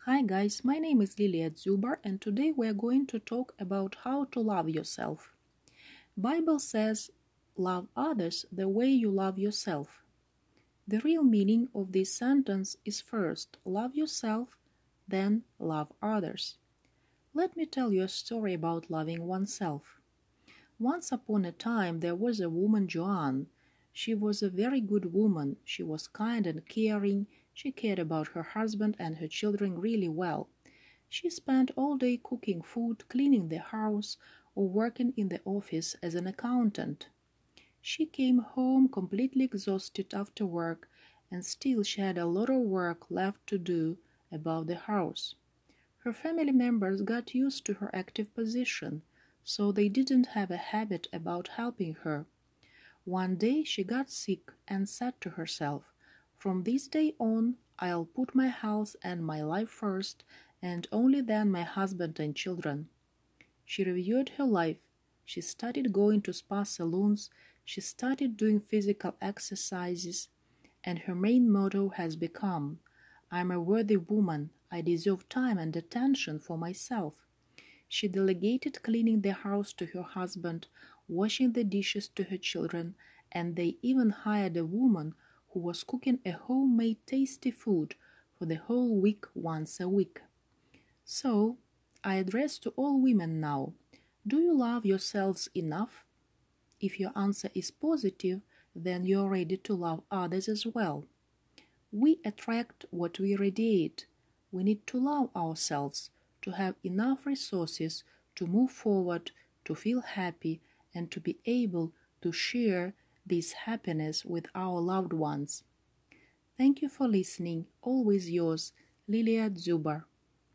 Hi guys, my name is Lilia Zubar and today we are going to talk about how to love yourself. Bible says, love others the way you love yourself. The real meaning of this sentence is first love yourself, then love others. Let me tell you a story about loving oneself. Once upon a time there was a woman Joanne. She was a very good woman. She was kind and caring. She cared about her husband and her children really well. She spent all day cooking food, cleaning the house, or working in the office as an accountant. She came home completely exhausted after work, and still she had a lot of work left to do about the house. Her family members got used to her active position, so they didn't have a habit about helping her. One day she got sick and said to herself, "From this day on, I'll put my health and my life first, and only then my husband and children." She reviewed her life. She started going to spa salons. She started doing physical exercises. And her main motto has become, "I'm a worthy woman. I deserve time and attention for myself." She delegated cleaning the house to her husband, washing the dishes to her children, and they even hired a woman who was cooking a homemade tasty food for the whole week once a week. So, I address to all women now, do you love yourselves enough? If your answer is positive, then you're ready to love others as well. We attract what we radiate. We need to love ourselves, to have enough resources to move forward, to feel happy, and to be able to share this happiness with our loved ones. Thank you for listening. Always yours, Lilia Zubar.